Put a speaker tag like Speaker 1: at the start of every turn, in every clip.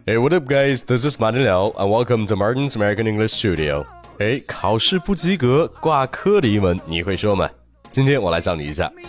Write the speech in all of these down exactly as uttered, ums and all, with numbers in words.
Speaker 1: Hey, what up, guys? This is Martin Liao, and welcome to Martin's American English Studio. 哎，考试不及格挂科的英文你会说吗？今天我来教你一下。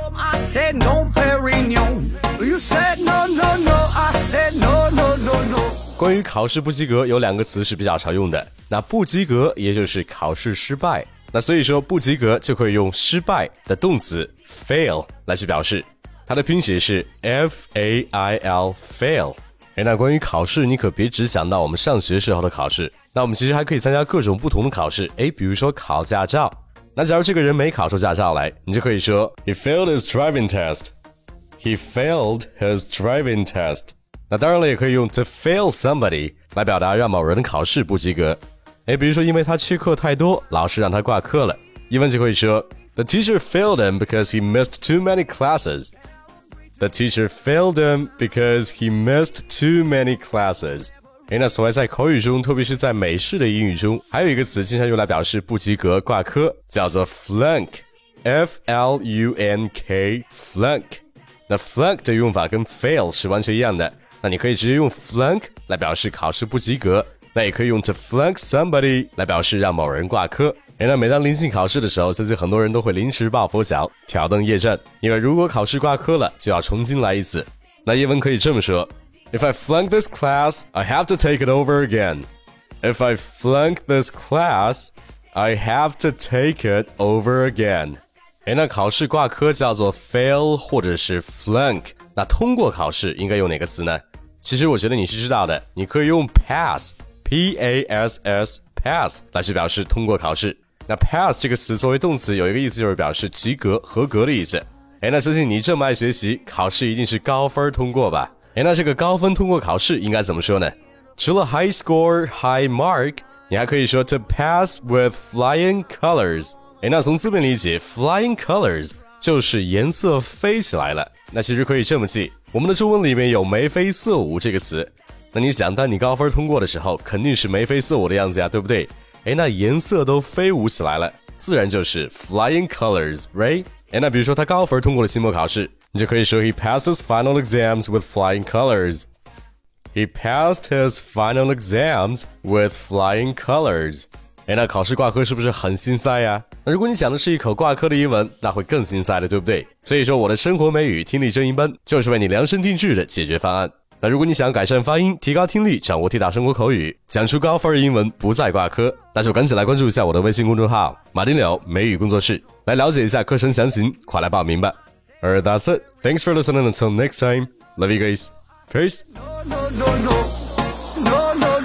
Speaker 1: 关于考试不及格，有两个词是比较常用的。那不及格也就是考试失败，那所以说不及格就可以用失败的动词 fail 来去表示，它的拼写是 F A I L fail。诶，那关于考试，你可别只想到我们上学时候的考试，那我们其实还可以参加各种不同的考试。诶，比如说考驾照，那假如这个人没考出驾照来，你就可以说 He failed his driving test. He failed his driving test. 那当然了，也可以用 to fail somebody 来表达让某人的考试不及格。诶，比如说因为他缺课太多，老师让他挂科了，英文就可以说 The teacher failed him because he missed too many classes.The teacher failed him because he missed too many classes. 诶，那此外在口语中，特别是在美式的英语中，还有一个词经常用来表示不及格、挂科，叫做 flunk. F L U N K, flunk. 那 flunk 的用法跟 fail 是完全一样的，那你可以直接用 flunk 来表示考试不及格，那也可以用 to flunk somebody 来表示让某人挂科。诶，那每当临近考试的时候，相信很多人都会临时抱佛脚，挑灯夜战，因为如果考试挂科了，就要重新来一次。那英文可以这么说 If I flunk this class, I have to take it over again. If I flunk this class, I have to take it over again. 诶，那考试挂科叫做 fail 或者是 flunk， 那通过考试应该用哪个词呢？其实我觉得你是知道的，你可以用 pass, P A S S, pass 来去表示通过考试。那 pass 这个词作为动词有一个意思就是表示及格、合格的意思。诶，那相信你这么爱学习，考试一定是高分通过吧？诶，那这个高分通过考试应该怎么说呢？除了 high score, high mark, 你还可以说 to pass with flying colors。诶，那从字面理解 flying colors 就是颜色飞起来了。那其实可以这么记，我们的中文里面有眉飞色舞这个词。那你想，当你高分通过的时候，肯定是眉飞色舞的样子呀，对不对？诶，那颜色都飞舞起来了，自然就是 flying colors, right? 诶，那比如说他高分通过了期末考试，你就可以说 He passed his final exams with flying colors. He passed his final exams with flying colors. 诶，那考试挂科是不是很心塞呀？那如果你讲的是一口挂科的英文，那会更心塞的，对不对？所以说我的生活美语听力正音班就是为你量身定制的解决方案。那如果你想改善发音，提高听力，掌握地道生活口语，讲出高分的英文，不再挂科，那就赶紧来关注一下我的微信公众号马丁柳美语工作室，来了解一下课程详情，快来报名吧。Alright, that's it. Thanks for listening. Until next time. Love you guys. Peace. No, no, no, no. No, no.